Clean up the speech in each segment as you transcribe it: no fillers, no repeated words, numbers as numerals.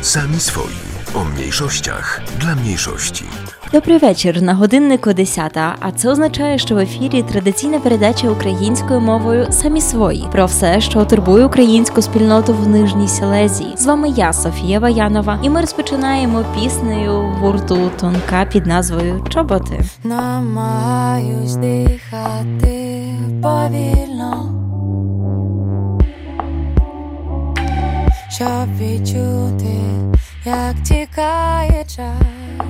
Sami swoi. O mniejszościach dla mniejszości. Добрий вечір. На годиннику 10, а це означає, що в ефірі традиційна передача українською мовою «Самі свої» про все, що турбує українську спільноту в Нижній Силезії. З вами я, Софія Ваянова, і ми розпочинаємо піснею гурту «Тонка» під назвою «Чоботи». Намагаюсь дихати повільно, щоб відчути, як тікає час.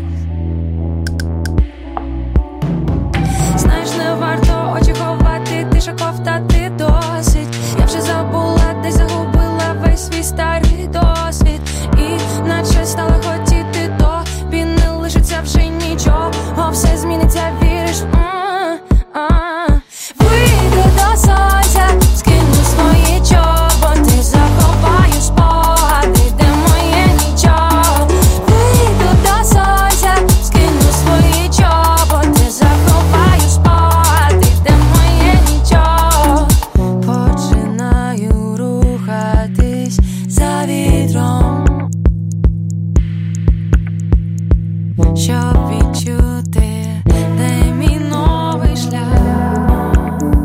Знаєш, не варто очі ховати, ти ковтати досить. Я вже забула, десь загубила весь свій старий досвід. І наче стала хотіти, тобі не лишиться вже нічого. Все зміниться, віриш? Вийду до сонця, скину свої чоботи, заховаю спогади, де моє нічого. Вийду до сонця, скину свої чоботи, заховаю спогади, де моє нічого. Починаю рухатись за вітром, щоб відчути, де мій новий шлях.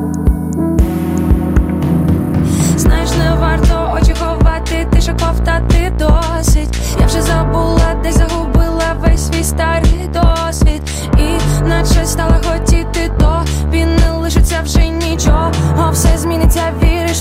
Знаєш, не варто очі ховати, ти ковтати досить. Я вже забула, десь загубила весь свій старий досвід. І наче стала хотіти, тобі не лишиться вже нічого. Все зміниться, віриш?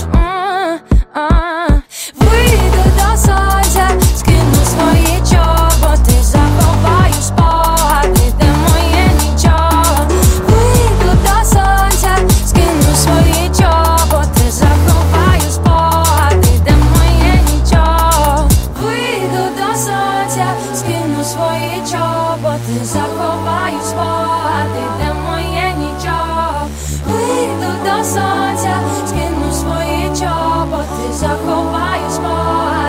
Вийду до сонця, скину свої чоботи, заховаю спогади, де моє нічого. Вийду до сонця, скину свої чоботи, заховаю спогади, де моє нічого. Вийду до сонця, скину свої чоботи, заховаю спогади, де моє нічого. Вийду до сонця, скину свої чоботи, заховаю спогади.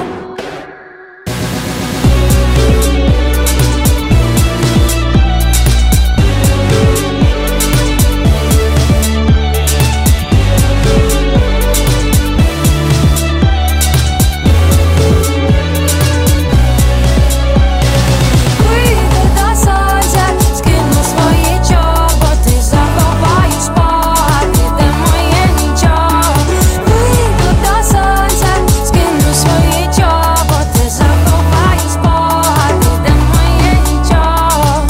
Вийду до сонця, скину свої чоботи, заховаю спогади, де моє нічого. Вийду до сонця, скину свої чоботи, заховаю спогади, де моє нічого.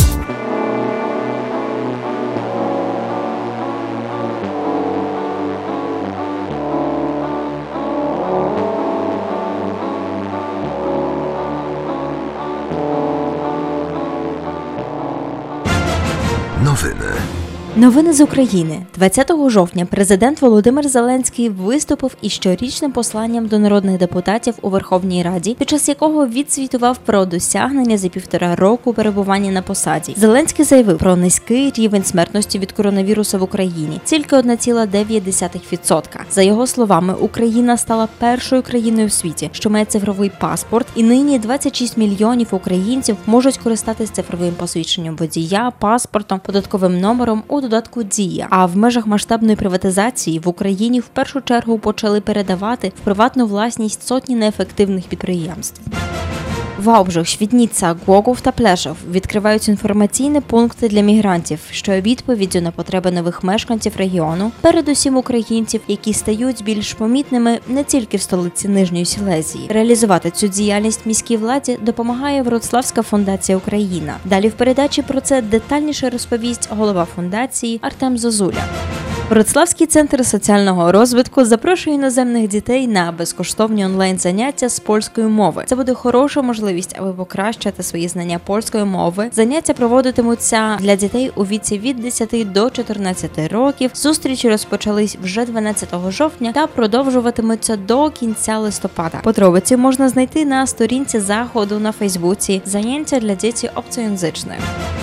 Новини з України. 20 жовтня президент Володимир Зеленський виступив із щорічним посланням до народних депутатів у Верховній Раді, під час якого відзвітував про досягнення за 1,5 року перебування на посаді. Зеленський заявив про низький рівень смертності від коронавірусу в Україні – тільки 1,9%. За його словами, Україна стала першою країною в світі, що має цифровий паспорт, і нині 26 мільйонів українців можуть користатись цифровим посвідченням водія, паспортом, податковим номером у додатку «Дія». А в межах масштабної приватизації в Україні в першу чергу почали передавати в приватну власність сотні неефективних підприємств. Вałbrzych, Świdnica, Głogów та Плешов відкривають інформаційні пункти для мігрантів, що є відповіддю на потреби нових мешканців регіону, передусім українців, які стають більш помітними не тільки в столиці Нижньої Силезії. Реалізувати цю діяльність міській владі допомагає Вроцлавська фундація «Україна». Далі в передачі про це детальніше розповість голова фундації Артем Зозуля. Вроцлавський центр соціального розвитку запрошує іноземних дітей на безкоштовні онлайн-заняття з польської мови. Це буде хороша можливість, аби покращити свої знання польської мови. Заняття проводитимуться для дітей у віці від 10 до 14 років. Зустрічі розпочались вже 12 жовтня та продовжуватимуться до кінця листопада. Подробиці можна знайти на сторінці заходу на Фейсбуці «Заняття для дітей обцоєнзичних».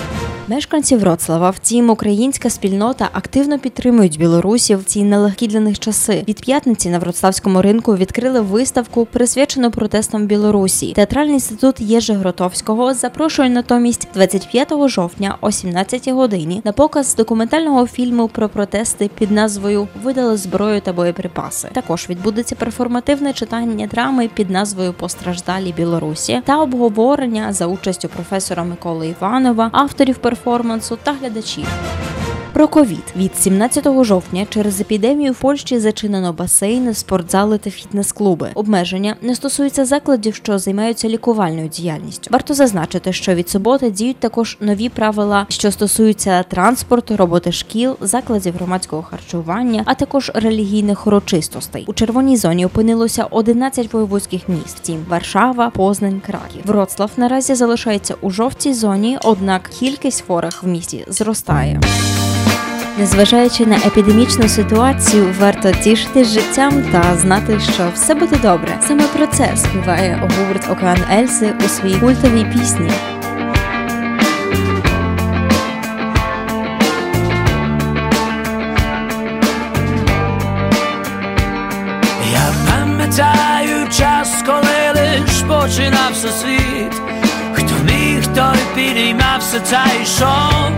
Мешканці Вроцлава, втім, українська спільнота активно підтримують білорусів в ці нелегкі для них часи. Від п'ятниці на Вроцлавському ринку відкрили виставку, присвячену протестам Білорусі. Театральний інститут Єжи Гротовського запрошує натомість 25 жовтня о 17 годині на показ документального фільму про протести під назвою «Видали зброю та боєприпаси». Також відбудеться перформативне читання драми під назвою «Постраждалі Білорусі» та обговорення за участю професора Миколи Іванова, авторів перформансу та глядачів. Про ковід. Від 17 жовтня через епідемію в Польщі зачинено басейни, спортзали та фітнес-клуби. Обмеження не стосуються закладів, що займаються лікувальною діяльністю. Варто зазначити, що від суботи діють також нові правила, що стосуються транспорту, роботи шкіл, закладів громадського харчування, а також релігійних урочистостей. У червоній зоні опинилося 11 воєводських міст, втім Варшава, Познань, Краків. Вроцлав наразі залишається у жовтій зоні, однак кількість хворих в місті зростає. Незважаючи на епідемічну ситуацію, варто тішитись життям та знати, що все буде добре. Саме про це співає гурт Океан Ельзи у своїй культовій пісні. Я пам'ятаю час, коли лиш починався світ. Хто міг, той підіймався та йшов.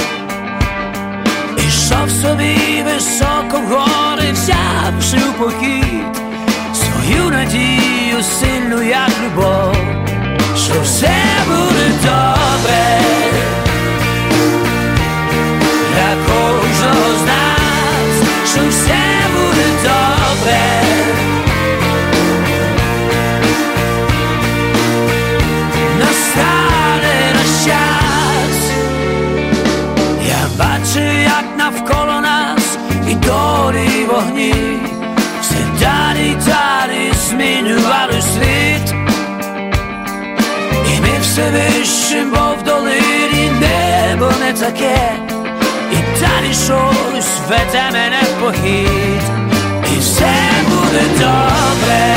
Ішов собі високо в гори, взявши у похід свою надію сильну, як любов, що все буде добре для кожного з нас, що все буде добре. Настане наш час. Я бачу, як навколо нас і долі вогні все далі й далі змінювали світ. І ми все вище, бо в долині небо не таке, і далі щось веде мене в похід, і все буде добре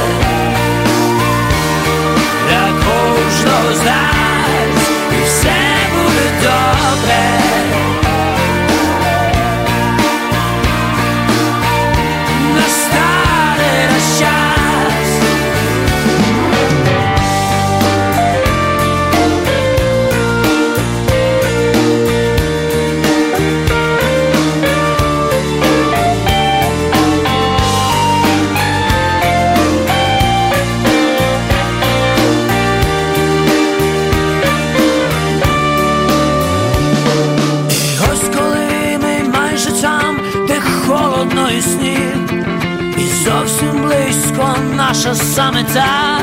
для кожного з нас, і все буде добре. Настане наш час. І ось коли ми майже там, де холодно і сніг, і зовсім близько наша самета.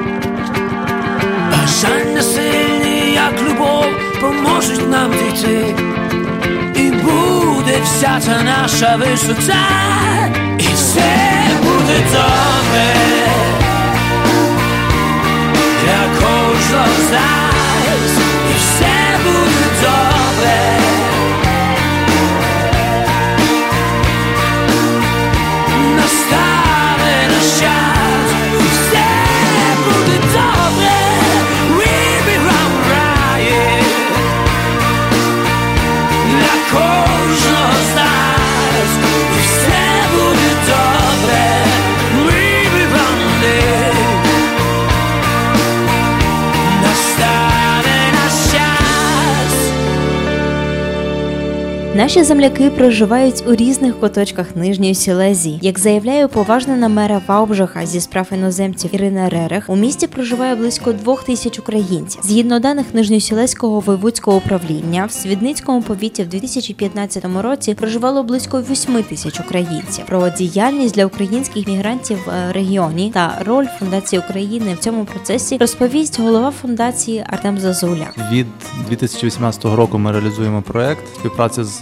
Бажання сильні, як любов, поможуть нам дійти, і буде вся та наша висота, і все буде добре для кожного з нас, і все буде добре. Настане наш час, і все буде добре. We'll be right для кожного з нас, і все буде добре. We'll be right. Настане наш час. Наші земляки проживають у різних куточках Нижньої Сілезії. Як заявляє уповажнена мера Ваубжаха зі справ іноземців Ірина Ререх, у місті проживає близько 2000 українців. Згідно даних Нижньосілезького воєводського управління, в Свідницькому повіті в 2015 році проживало близько 8000 українців. Про діяльність для українських мігрантів в регіоні та роль Фундації України в цьому процесі розповість голова фундації Артем Зазуля. Від 2018 року ми реалізуємо проект співпраці з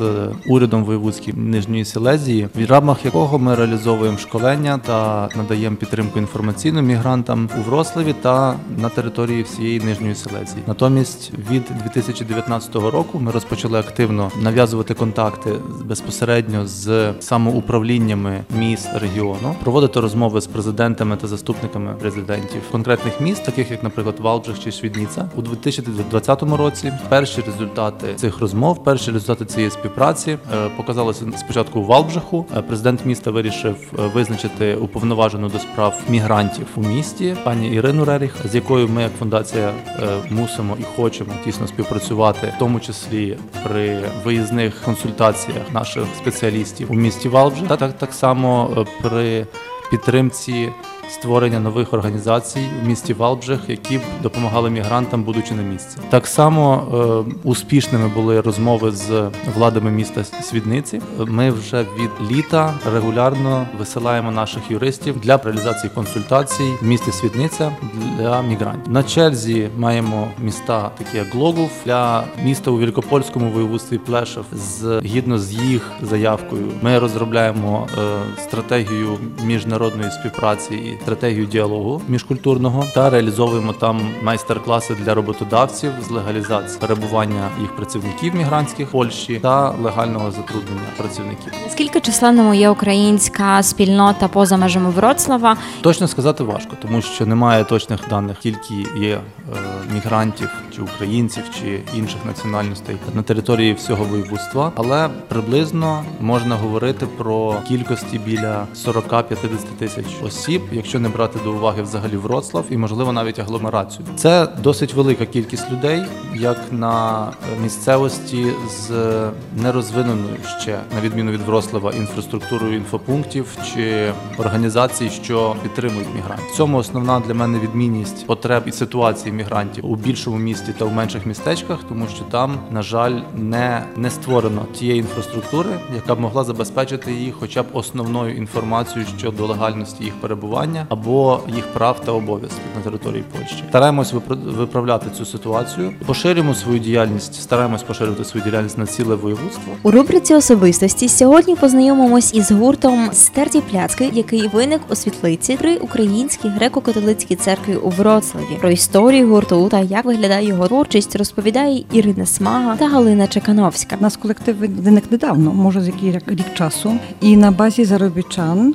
урядом воєвудським Нижньої Силезії, в рамках якого ми реалізовуємо школення та надаємо підтримку інформаційну мігрантам у Вроцлаві та на території всієї Нижньої Силезії. Натомість від 2019 року ми розпочали активно нав'язувати контакти безпосередньо з самоуправліннями міст регіону, проводити розмови з президентами та заступниками президентів конкретних міст, таких як, наприклад, Валбжих чи Свідниця. У 2020 році перші результати цих розмов, перші результати цієї співпраці показалися спочатку у Валбжиху. Президент міста вирішив визначити уповноважену до справ мігрантів у місті, пані Ірину Реріх, з якою ми, як фундація, мусимо і хочемо тісно співпрацювати, в тому числі при виїзних консультаціях наших спеціалістів у місті Валбжих, та так само при підтримці створення нових організацій в місті Валбжих, які б допомагали мігрантам, будучи на місці. Так само успішними були розмови з владами міста Свідниці. Ми вже від літа регулярно висилаємо наших юристів для реалізації консультацій в місті Свідниця для мігрантів. На черзі маємо міста, такі як Глогов, для міста у Великопольському воєводстві Плешов. Згідно з їх заявкою, ми розробляємо стратегію міжнародної співпраці і стратегію діалогу міжкультурного та реалізовуємо там майстер-класи для роботодавців з легалізації перебування їх працівників мігрантських в Польщі та легального затруднення працівників. Наскільки численною є українська спільнота поза межами Вроцлава? Точно сказати важко, тому що немає точних даних, скільки є мігрантів чи українців чи інших національностей на території всього воєводства, але приблизно можна говорити про кількості біля 40-50 тисяч осіб, якщо не брати до уваги взагалі Вроцлав і, можливо, навіть агломерацію. Це досить велика кількість людей, як на місцевості з нерозвиненою ще, на відміну від Вроцлава, інфраструктурою інфопунктів чи організацій, що підтримують мігрантів. В цьому основна для мене відмінність потреб і ситуації мігрантів у більшому місті та в менших містечках, тому що там, на жаль, не створено тієї інфраструктури, яка б могла забезпечити їх хоча б основною інформацією щодо легальності їх перебування або їх прав та обов'язків на території Польщі. Стараємось виправляти цю ситуацію, поширюємо свою діяльність, стараємось поширювати свою діяльність на ціле воєводство. У рубриці «Особистості» сьогодні познайомимось із гуртом «Стерті пляцки», який виник у Світлиці при Українській греко-католицькій церкві у Вроцлаві. Про історію гурту та як виглядає його творчість розповідає Ірина Смага та Галина Чекановська. У нас колектив виник недавно, може з який рік часу, і на базі заробітчан,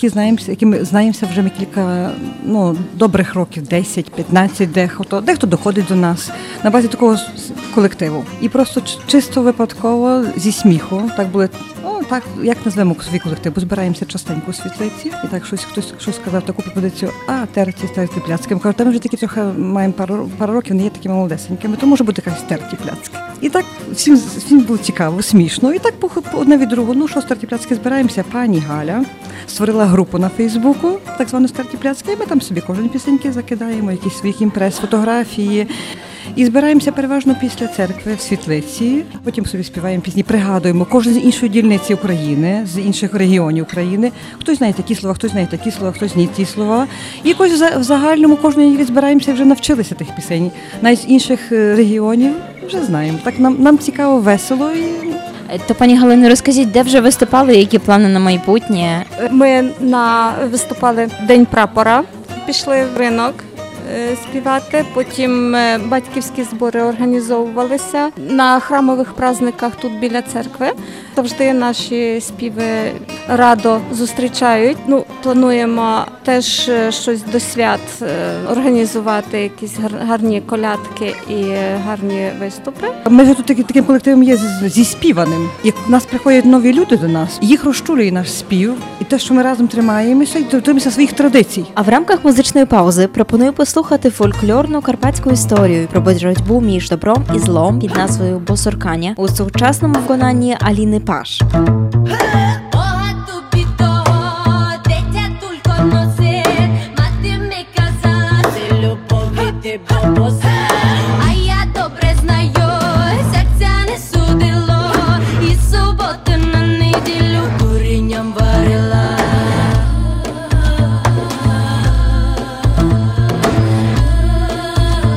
які ми знаємося вже кілька добрих років, 10-15, дехто доходить до нас на базі такого колективу. І просто чисто випадково зі сміху, так були, так, як назвемо свій колектив, бо збираємося частенько у Світлиці, і так хтось сказав таку пропозицію, терті пляцки. Ми кажемо, ми вже такі трохи маємо пару років, не є такими молодесенькими, то може бути якась терті пляцки. І так всім було цікаво, смішно, і так одне від другого, що стерті пляцки збираємося, пані Галя створила групу на Фейсбуку, так звану «Стерті пляцки», і ми там собі кожен пісеньки закидаємо, якісь свої імпрес, фотографії. І збираємося переважно після церкви в Світлиці, потім собі співаємо пісні, пригадуємо кожен з іншої дільниці України, з інших регіонів України. Хтось знає такі слова, хтось знає такі слова, хтось ні ті слова. І якось в загальному кожної неділі збираємося, вже навчилися тих пісень. Навіть з інших регіонів вже знаємо. Так нам цікаво, весело. То, пані Галино, розкажіть, де вже виступали, які плани на майбутнє? Ми виступали День прапора, пішли в ринок співати, потім батьківські збори організовувалися на храмових праздниках тут біля церкви. Завжди наші співи радо зустрічають. Плануємо теж щось до свят організувати, якісь гарні колядки і гарні виступи. Ми вже тут таким колективом є зі співаним. Як в нас приходять нові люди до нас, їх розчулює наш спів і те, що ми разом тримаємося і дотримуємося своїх традицій. А в рамках музичної паузи пропоную послухати фольклорну карпатську історію про боротьбу між добром і злом під назвою «Босоркання» у сучасному виконанні Аліни Паш.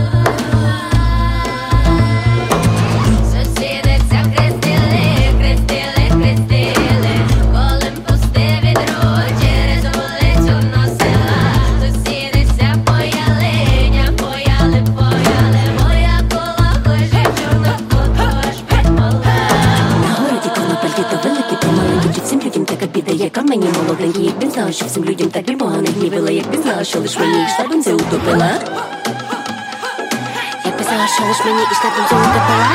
Сусіди вся хрестили, знала, що всім людям так любого не гнівила. Якби знала, що лиш мені йшла бензи утопила. Якби знала, що лиш мені йшла бензи утопила.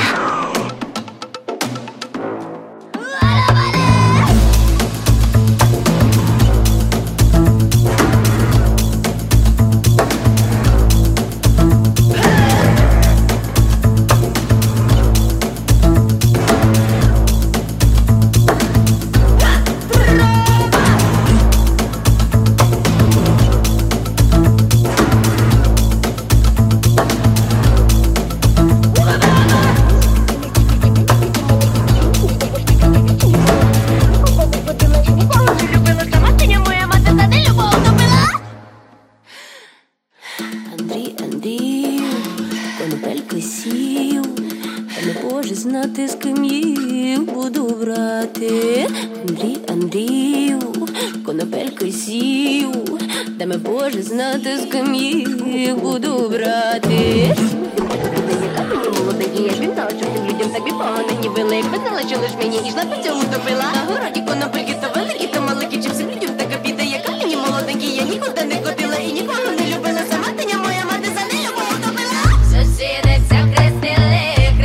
Конопельки сів, та не Боже знати, з ким їх буду брати. Андрію, конопельки сів, та не Боже знати, з ким їх буду брати. Молодий, я ж він знала, що всім людям так погано гнівила. Якби знала, що лиш мені йшла по цьому топила. На городі конопельки то великі, то маленькі, чи всім людям така біда, яка мені молоденький, я нікуди не ходила і нікого не любила. Сама теня моя мати за нелюбов топила. Сусіди вся хрестили,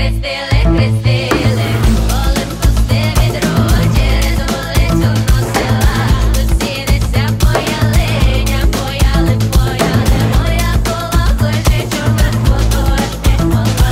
коли пусте відро через вулицю носила. Сусіди вся пояли, моя кола кличе чорних поточних мола.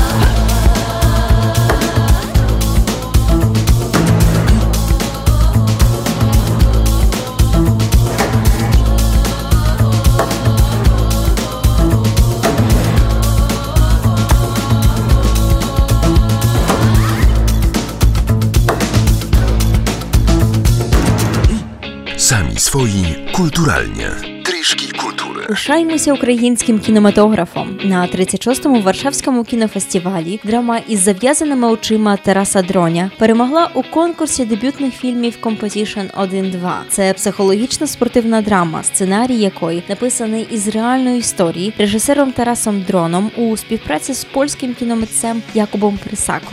Sami swoi kulturalnie. Трішки культури. Пишаємося українським кінематографом. На 36-му Варшавському кінофестивалі драма «Із зав'язаними очима» Тараса Дроня перемогла у конкурсі дебютних фільмів Competition 1-2. Це психологічно-спортивна драма, сценарій якої написаний із реальної історії режисером Тарасом Дроном у співпраці з польським кіномитцем Якубом Присаком.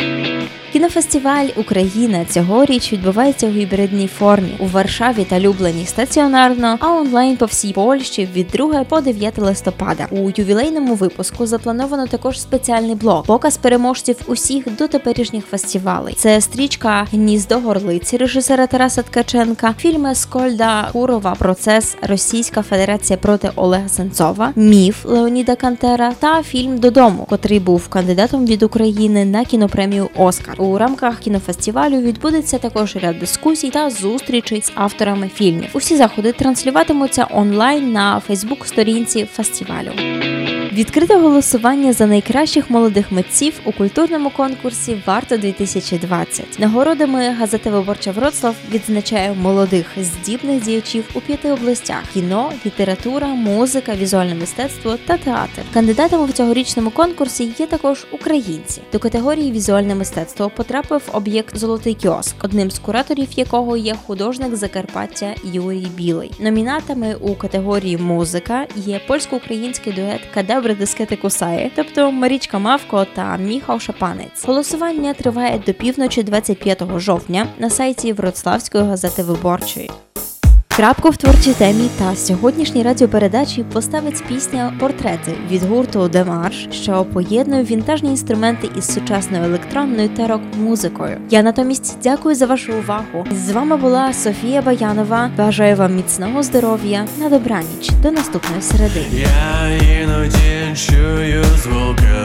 Кінофестиваль «Україна» цьогоріч відбувається у гібридній формі у Варшаві та Люблені стаціонарно, а онлайн по всій Польщі від 2 по 9 листопада. У ювілейному випуску заплановано також спеціальний блок – показ переможців усіх дотеперішніх фестивалей. Це стрічка «Гніздо горлиці» режисера Тараса Ткаченка, фільми Скольда Курова «Процес. Російська Федерація проти Олега Сенцова», «Міф» Леоніда Кантера та фільм «Додому», котрий був кандидатом від України на кінопремію «Оскар». У рамках кінофестивалю відбудеться також ряд дискусій та зустрічей з авторами фільмів. Усі заходи транслюватимуться онлайн на Фейсбук-сторінці фестивалю. Відкрите голосування за найкращих молодих митців у культурному конкурсі «Варто-2020». Нагородами газета «Виборча Вроцлав» відзначає молодих, здібних діячів у 5 областях – кіно, література, музика, візуальне мистецтво та театр. Кандидатами в цьогорічному конкурсі є також українці. До категорії «Візуальне мистецтво» потрапив об'єкт «Золотий кіоск», одним з кураторів якого є художник Закарпаття Юрій Білий. Номінатами у категорії «Музика» є польсько-український дует «Кадебри дискети кусає», тобто Марічка Мавко та Міхал Шапанець. Голосування триває до півночі 25 жовтня на сайті Вроцлавської газети «Виборчої». Крапку в творчій темі та сьогоднішній радіопередачі поставить пісня «Портрети» від гурту Демарш, що поєднує вінтажні інструменти із сучасною електронною та рок-музикою. Я натомість дякую за вашу увагу. З вами була Софія Баянова. Бажаю вам міцного здоров'я. На добраніч. До наступної середи. Я іноді чую звуки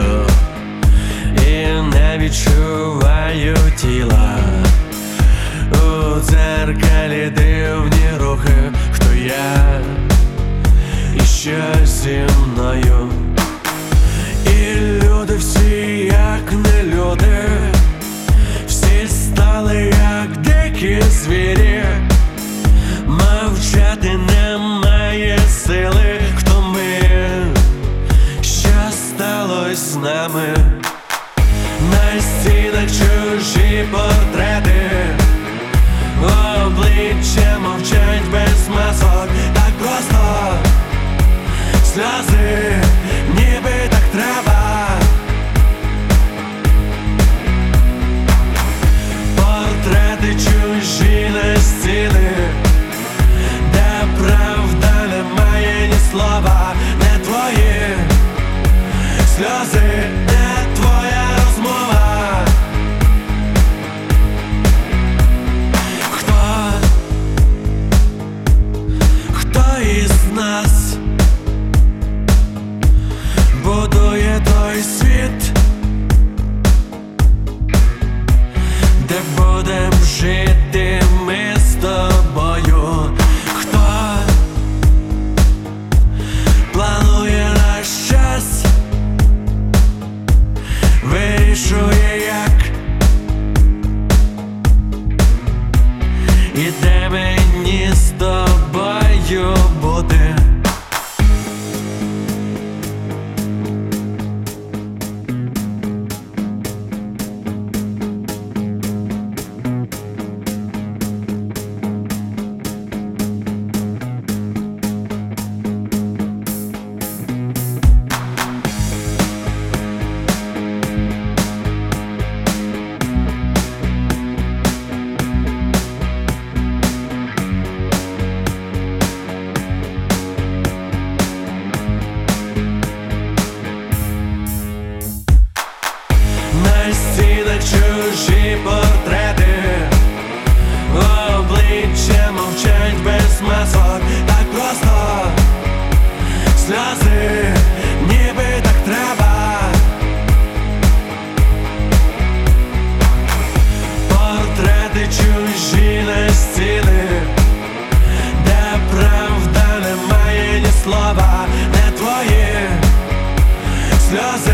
і не відчуваю тіла. У дзеркалі дивні рухи, хто я і що зі мною. І люди всі як не люди, всі стали як дикі звірі. Мовчати немає сили, хто ми, що сталося з нами. На стінах чужі портрети, обличчя мовчать без масок. Так просто сльози, ніби так треба. Портрети чужі на стіни, чужі портрети, обличчя мовчать без масок, так просто сльози, ніби так треба. Портрети чужі на стіни, де правда немає ні слова, не твої сльози.